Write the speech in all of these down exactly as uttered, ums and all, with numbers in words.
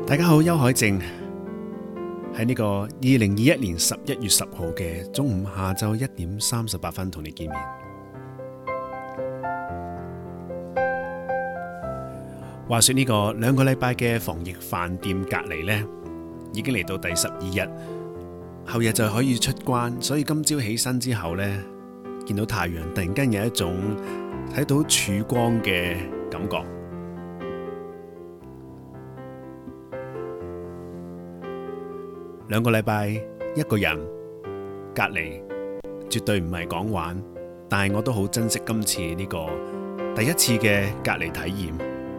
大家好，邱海靖喺呢個二零二一年十一月十號嘅中午下晝一點三十八分同你見面。話說呢個兩個禮拜嘅防疫飯店隔離呢，已經嚟到第十二日，後日就可以出關，所以今朝起身之後呢，見到太陽，突然間有一種睇到曙光嘅感覺。兩個禮拜一個人隔離，絕對唔係講玩，但係我都好珍惜今次呢個第一次嘅隔離體驗。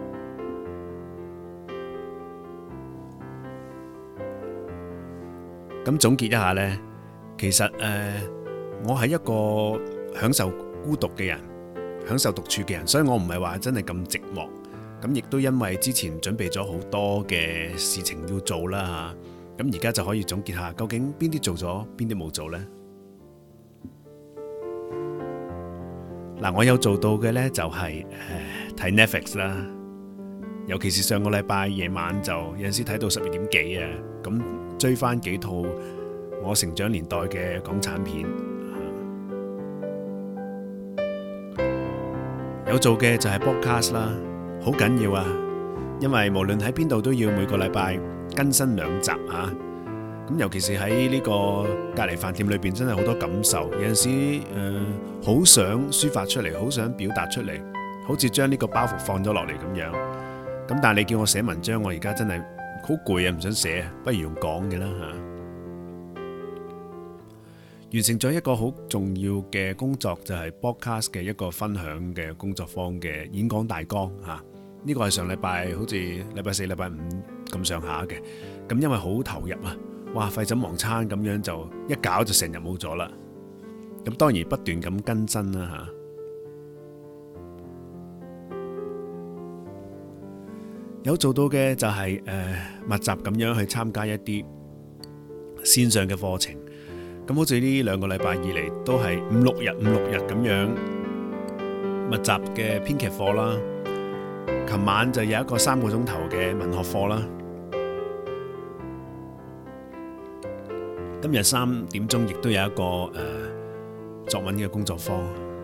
咁總結一下呢，其實誒、呃，我係一個享受孤獨嘅人，享受獨處嘅人，所以我唔係話真係咁寂寞。咁亦都因為之前準備咗好多嘅事情要做啦吓，咁而家就可以總結下，究竟邊啲做咗，邊啲冇做呢？嗱，我有做到嘅呢，就係誒睇 Netflix 啦，尤其是上個禮拜夜晚就有陣時睇到十二點幾啊，咁追翻幾套我成長年代嘅港產片。有做嘅就係 podcast 啦，好緊要啊，因為無論喺邊度都要每個禮拜更新兩集啊。咁尤其是喺呢個隔離飯店裏邊，真係好多感受。有陣時誒，好、呃、想抒發出嚟，好想表達出嚟，好似將呢個包袱放咗落嚟咁樣。咁但係你叫我寫文章，我而家真係好攰啊，唔想寫，不如用講嘅啦吓。完成咗一個好重要嘅工作，就係 podcast 嘅一個分享嘅工作坊嘅演講大綱吓。呢、這個係上禮拜好似禮拜四、禮拜五咁上下嘅。咁因為好投入啊，哇，廢寢忘餐咁樣就一搞就成日冇咗啦。咁當然不斷咁更新啦吓。有做到嘅就係、是、誒、呃、密集咁樣去參加一啲線上嘅課程。咁好似呢兩個禮拜以嚟都係五六日五六日咁樣密集嘅編劇課啦。琴晚就有一個三個鐘頭嘅文學課啦。今日三點鐘亦都有一個誒、呃、作文嘅工作坊。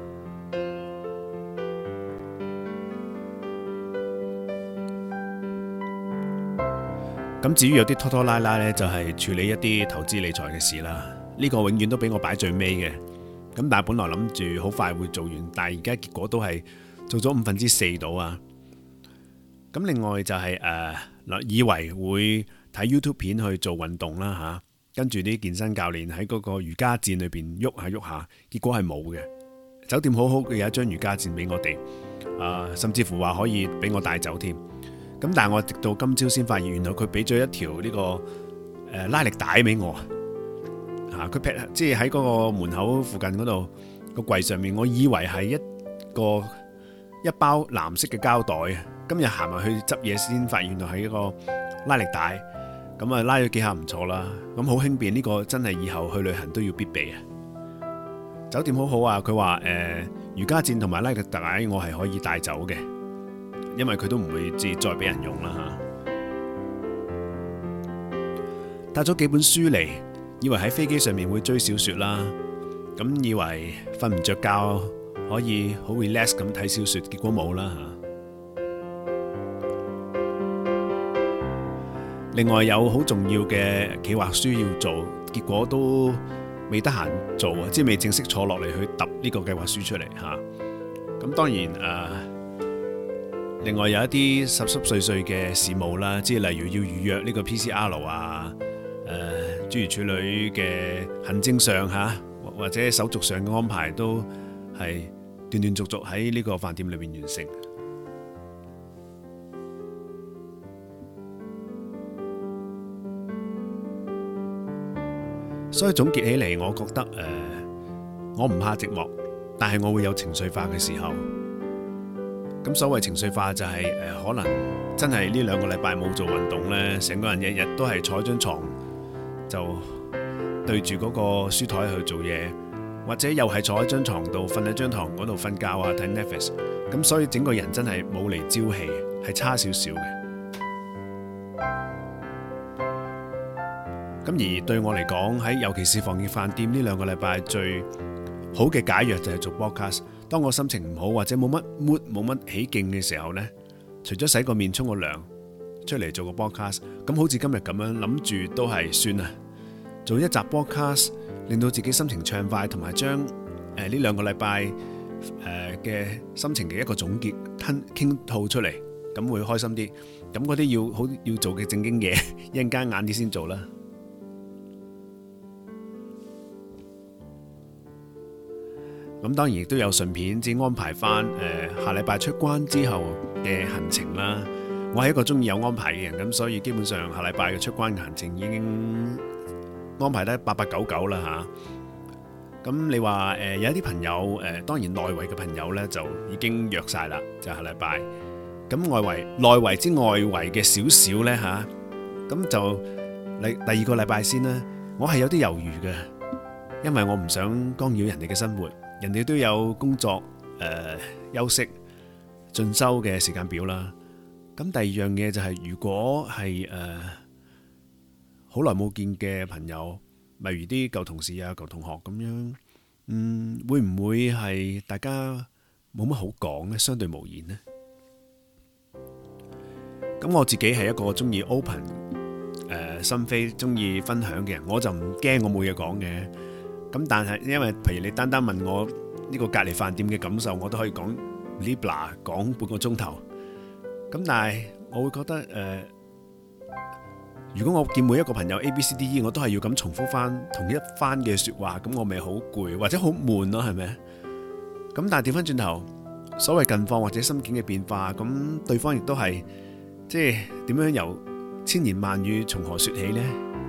咁至於有啲拖拖拉拉呢，就係處理一啲投資理財嘅事啦。呢個永遠都俾我擺最尾嘅。咁但係本來諗住好快會做完，但係而家結果都係做咗五分之四到啊。咁另外就係誒嗱，以為會睇 YouTube 片去做運動啦吓，跟住啲健身教練喺嗰個瑜伽墊裏邊喐下喐下，結果係冇嘅。酒店好好嘅有一張瑜伽墊俾我哋，啊，甚至乎話可以俾我帶走添。咁但係我直到今朝先發現，原來佢俾咗一條呢個誒拉力帶俾我。嚇！佢劈即係喺嗰個門口附近嗰度個櫃上面，我以為係一個一包藍色嘅膠袋啊。今日行埋去執嘢先發現，原來係一個拉力帶。咁啊拉咗幾下唔錯啦。咁好輕便，呢個真係以後去旅行都要必備啊！酒店好好啊，佢話誒瑜伽墊同埋拉力帶我係可以帶走嘅，因為佢都唔會再再俾人用啦嚇。帶咗幾本書嚟。以為喺飛機上面會追小說啦，咁以為瞓唔着覺可以好 relax 咁睇小說，結果冇啦吓。另外有好重要嘅企劃書要做，結果都未得閒做啊，即係未正式坐落嚟去揼呢個計劃書出嚟吓。咁當然誒、呃，另外有一啲濕濕碎碎嘅事務啦，即係例如要預約呢個 P C R 啊，誒、呃。諸如此類嘅行政上吓，或者手續上嘅安排都係斷斷續續喺呢個飯店裏面完成。所以總結起嚟，我覺得誒、呃，我唔怕寂寞，但係我會有情緒化嘅時候。咁所謂情緒化就係、是、誒、呃，可能真係呢兩個禮拜冇做運動呢，成個人日日都係坐張床。就對住嗰個書台去做嘢，或者又係坐喺張床度瞓喺張床嗰度瞓覺啊，睇 Netflix， 咁所以整個人真係冇嚟朝氣，係差少少嘅。 咁而對我嚟講，喺尤其是防疫飯店呢兩個禮拜最好嘅解藥就係做 podcast。當我心情唔好或者冇乜 mood 冇乜起勁嘅時候呢，除咗洗個面沖個涼出嚟做個 podcast，咁好似今日咁樣諗住都係算啦，做一集 podcast 令到自己心情暢快，同埋將誒呢兩個禮拜誒嘅心情嘅一個總結吞傾吐出嚟，咁會開心啲。咁嗰啲要好要做嘅正經嘢，一陣間晏啲先做啦。咁當然亦都有順便先安排翻誒下禮拜出關之後嘅行程啦。我係一個中意有安排嘅人，咁所以基本上下禮拜嘅出關行程已經安排得八八九九啦嚇。咁你話誒有一啲朋友誒，當然內圍嘅朋友呢就已經約晒啦，就下禮拜。咁外圍內圍之外圍嘅少少呢嚇，咁就你第二個禮拜先啦。我係有啲猶豫嘅，因為我唔想干擾人哋嘅生活。人哋都有工作、誒、呃、休息、進修嘅時間表啦。咁第二樣嘢就係、是，如果係誒好耐冇見嘅朋友，例如啲舊同事啊、舊同學咁樣，嗯，會唔會係大家冇乜好講呢？相對無言呢？咁我自己係一個中意 open 誒、呃、心扉、中意分享嘅人，我就唔驚我冇嘢講嘅。咁但係因為譬如你單單問我呢個隔離飯店嘅感受，我都可以講 Libra 講半個鐘頭。咁但係我會覺得誒、呃，如果我見每一個朋友 A B C D E，我都係要咁重複翻同一番嘅説話，咁我咪好攰或者好悶咯，係咪？咁但係調翻轉頭，所謂近況或者心境嘅變化，咁對方亦都係即係點樣由千言萬語從何説起呢？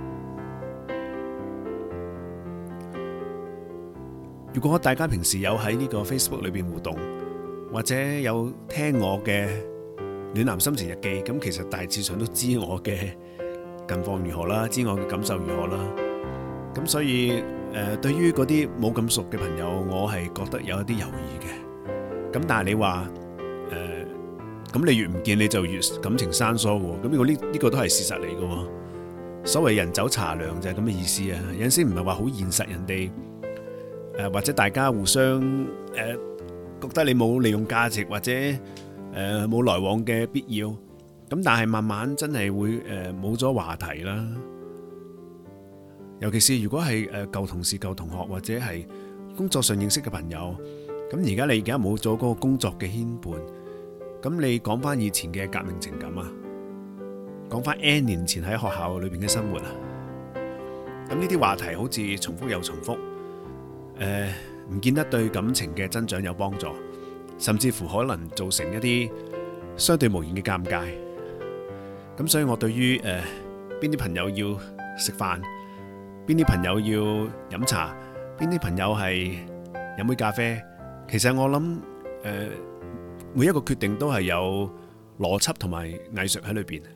如果大家平時有喺呢個 Facebook 裏邊互動，或者有聽我嘅暖男心情日記，咁其實大致上都知我嘅近況如何啦，知我嘅感受如何啦。咁所以誒，對於嗰啲冇咁熟嘅朋友，我係覺得有一啲猶豫嘅。咁但係你話誒，咁你越唔見你就越感情生疏喎。咁呢個呢呢個都係事實嚟嘅。所謂人走茶涼就係咁嘅意思啊。有陣時唔係話好現實，人哋。誒或者大家互相誒覺得你冇利用價值，或者誒冇來往嘅必要，咁但係慢慢真係會誒冇咗話題啦。尤其是如果係誒舊同事、舊同學，或者係工作上認識嘅朋友，咁而家你而家冇咗嗰個工作嘅牽絆，咁你講翻以前嘅革命情感啊，講翻 N 年前喺學校裏邊嘅生活啊，咁呢啲話題好似重複又重複。誒，唔、呃、見得對感情嘅增長有幫助，甚至乎可能造成一啲相對無言嘅尷尬。咁所以我對於誒邊啲朋友要食飯，邊啲朋友要飲茶，邊啲朋友係飲杯咖啡，其實我諗誒、呃、每一個決定都係有邏輯同埋藝術喺裏邊。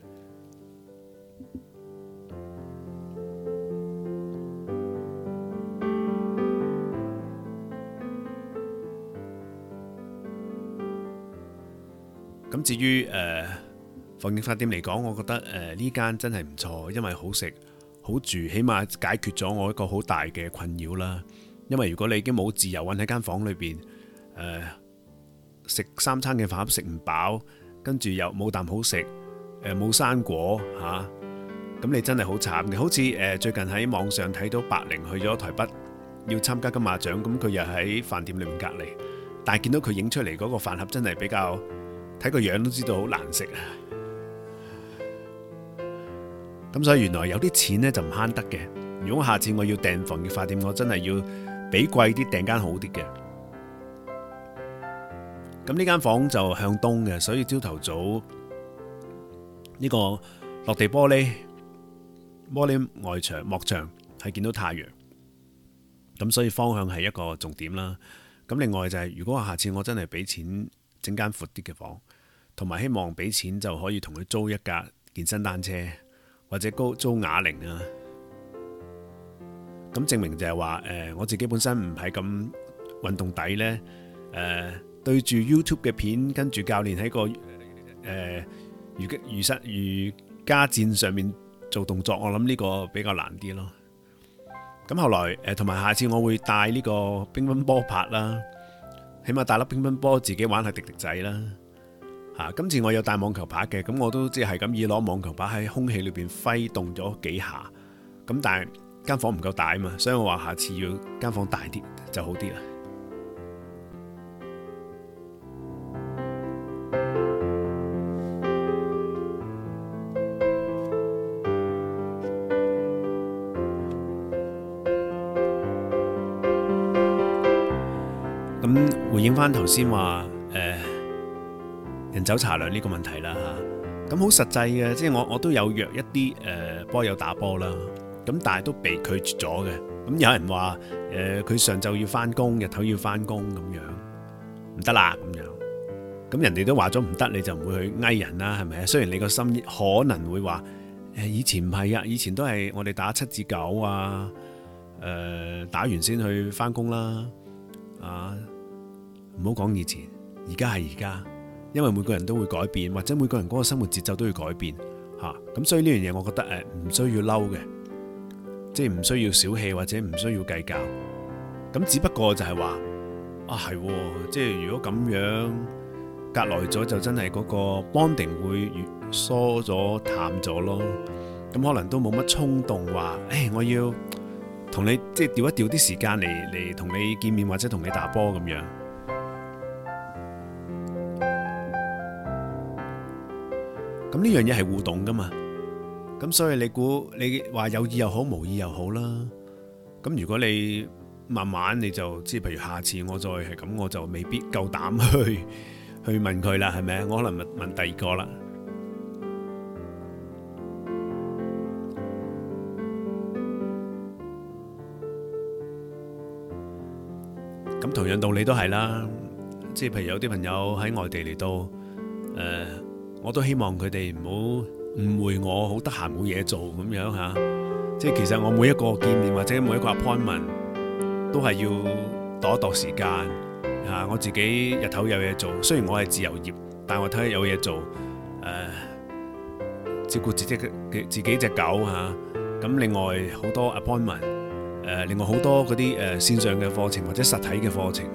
咁至於誒防疫飯店嚟講，我覺得誒呢間真係唔錯，因為好食好住，起碼解決咗我一個好大嘅困擾啦。因為如果你已經冇自由韞喺間房裏邊，誒食三餐嘅飯食唔飽，跟住又冇啖好食，誒冇生果嚇，咁你真係好慘嘅。好似誒最近喺網上睇到白靈去咗台北要參加金馬獎，咁佢又喺飯店裏面隔離，但係見到佢影出嚟嗰個飯盒真係比較。睇個樣都知道好難食啊！咁所以原來有啲錢呢就唔慳得嘅。如果下次我要訂防疫飯店，我真係要俾貴啲訂間好啲嘅。咁呢間房就向東嘅，所以朝頭早呢個落地玻璃玻璃外牆幕牆係見到太陽。咁所以方向係一個重點啦。咁另外就係、是、如果下次我真係俾錢。整間闊啲嘅房，同埋希望俾錢就可以同佢租一架健身單車，或者租租啞鈴啊。咁證明就係話，誒我自己本身唔係咁運動底呢。誒、呃、對住 YouTube 嘅片，跟住教練喺個誒瑜瑜室瑜伽墊上面做動作，我諗呢個比較難啲咯。咁後來誒同埋下次我會帶呢個乒乓波拍啦，起碼帶粒乒乓波自己玩下滴滴仔啦。嚇，今次我有帶網球拍嘅，咁我都即係咁以攞網球拍喺空氣裏邊揮動咗幾下。咁但係間房唔夠大啊嘛，所以我話下次要間房大啲就好啲啦。咁回應翻頭先話誒人走茶涼呢個問題啦嚇，咁好實際嘅，即係我我都有約一啲誒波友打波啦，咁但係都被拒絕咗嘅。咁有人話誒佢上晝要翻工，日頭要翻工咁樣，唔得啦咁樣。咁人哋都話咗唔得，你就唔會去嗌人啦，係咪啊？雖然你個心可能會話誒以前唔係啊，以前都係我哋打七至九啊，誒打完先去翻工啦，啊唔好講以前，而家係而家，因為每個人都會改變，或者每個人嗰個生活節奏都要改變嚇，咁所以呢樣嘢我覺得誒唔需要嬲嘅，即係唔需要小氣或者唔需要計較，咁只不過就係話啊係，即係如果咁樣隔耐咗就真係嗰個 bonding 會越疏咗淡咗咯，咁可能都冇乜衝動話誒我要同你即係調一調啲時間嚟嚟同你見面或者同你打波咁樣。咁呢樣嘢係互動噶嘛，咁所以你估你話有意又好無意又好啦，咁如果你慢慢你就即係譬如下次我再係咁，我就未必夠膽去去問佢啦，係咪啊？我可能問問第二個啦。咁同樣道理都係啦，即係譬如有啲朋友喺外地嚟到，誒、呃。我都希望佢哋唔好誤會我好得閒冇嘢做咁樣嚇，即係其實我每一個見面或者每一個 appointment 都係要度一度時間嚇，我自己日頭有嘢做，雖然我係自由業，但係我睇下有嘢做，誒、呃、照顧自己嘅自己隻狗嚇，咁另外好多 appointment，誒、呃、另外好多嗰啲誒線上嘅課程或者實體嘅課程。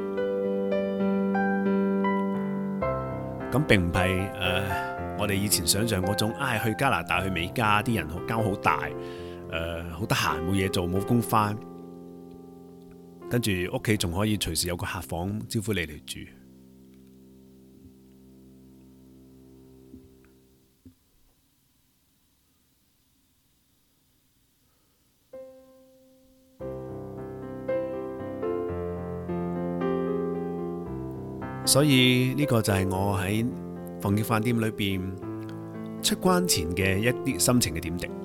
咁並唔係誒，我哋以前想象嗰種，唉、哎，去加拿大去美加啲人間好大，誒好得閒冇嘢做冇工返，跟住屋企仲可以隨時有個客房招呼你嚟住。所以呢個就係我喺防疫飯店裏邊出關前嘅一啲心情嘅點滴。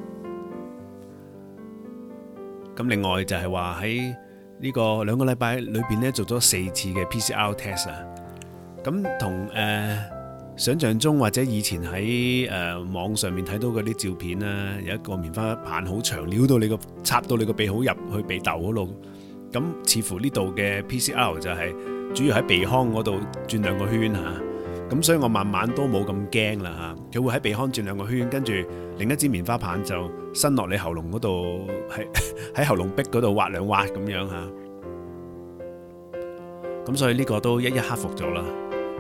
咁另外就係話喺呢個兩個禮拜裏邊咧做咗四次嘅 P C R test 啊。咁同誒想象中或者以前喺誒、呃、網上面睇到嗰啲照片啦，有一個棉花棒好長，撩到你個插到你個鼻好入去鼻竇嗰度。咁似乎呢度嘅 P C R 就係、是。主要喺鼻腔嗰度轉兩個圈嚇，咁所以我慢慢都冇咁驚啦嚇。佢會喺鼻腔轉兩個圈，跟住另一支棉花棒就伸落你喉嚨嗰度，喺喺喉嚨壁嗰度挖兩挖咁樣嚇。咁所以呢個都一一克服咗啦。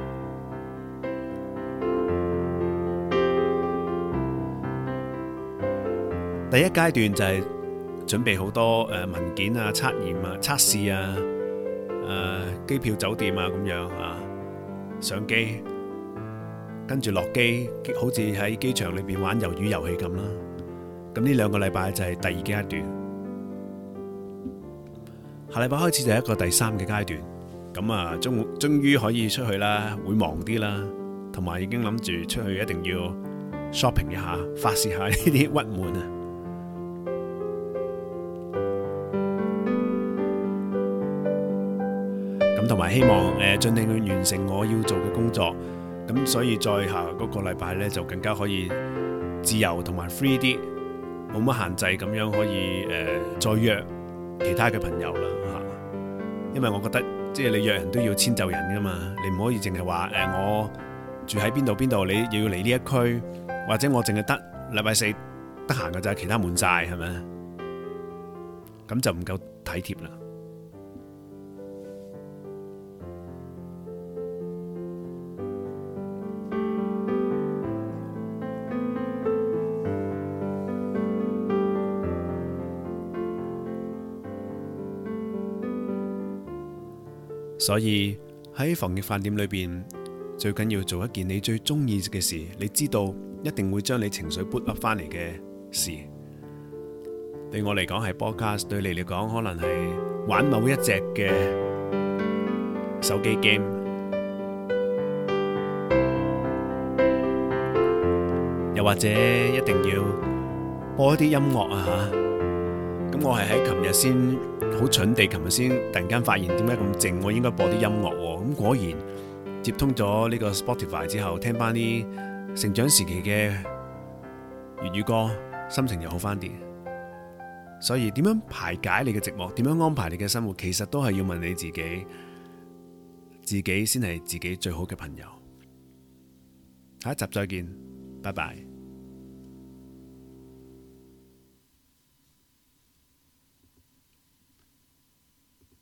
第一階段就係準備好多誒文件啊、測驗啊、測試啊。誒、呃、機票酒店啊咁樣啊，上機跟住落機，好似喺機場裏邊玩魷魚遊戲咁啦。咁呢兩個禮拜就係第二階段，下禮拜開始就係一個第三嘅階段。咁啊，終終於可以出去啦，會忙啲啦，同埋已經諗住出去一定要 shopping 一下，發洩下呢啲鬱悶啊。同埋希望誒盡力去完成我要做嘅工作，咁所以再下嗰個禮拜呢，就更加可以自由同埋 free 啲，冇乜限制咁樣可以誒、呃、再約其他嘅朋友啦嚇。因為我覺得即係你約人都要遷就人噶嘛，你唔可以淨係話誒我住喺邊度邊度，你要嚟呢一區，或者我淨係得禮拜四得閒嘅就係其他悶晒，係咪？咁就唔夠體貼啦。所以喺防疫飯店裏邊，最緊要做一件你最中意嘅事，你知道一定會將你情緒 boot up 翻嚟嘅事。對我嚟講係 podcast， 對你嚟講可能係玩某一隻嘅手機 game， 又或者一定要播一啲音樂啊吓。咁我係喺琴日先好蠢地，琴日先突然間發現點解咁靜，我應該播啲音樂喎。咁果然接通咗呢個 Spotify 之後，聽翻啲成長時期嘅粵語歌，心情又好翻啲。所以點樣排解你嘅寂寞，點樣安排你嘅生活，其實都係要問你自己，自己先係自己最好嘅朋友。下一集再見，拜拜。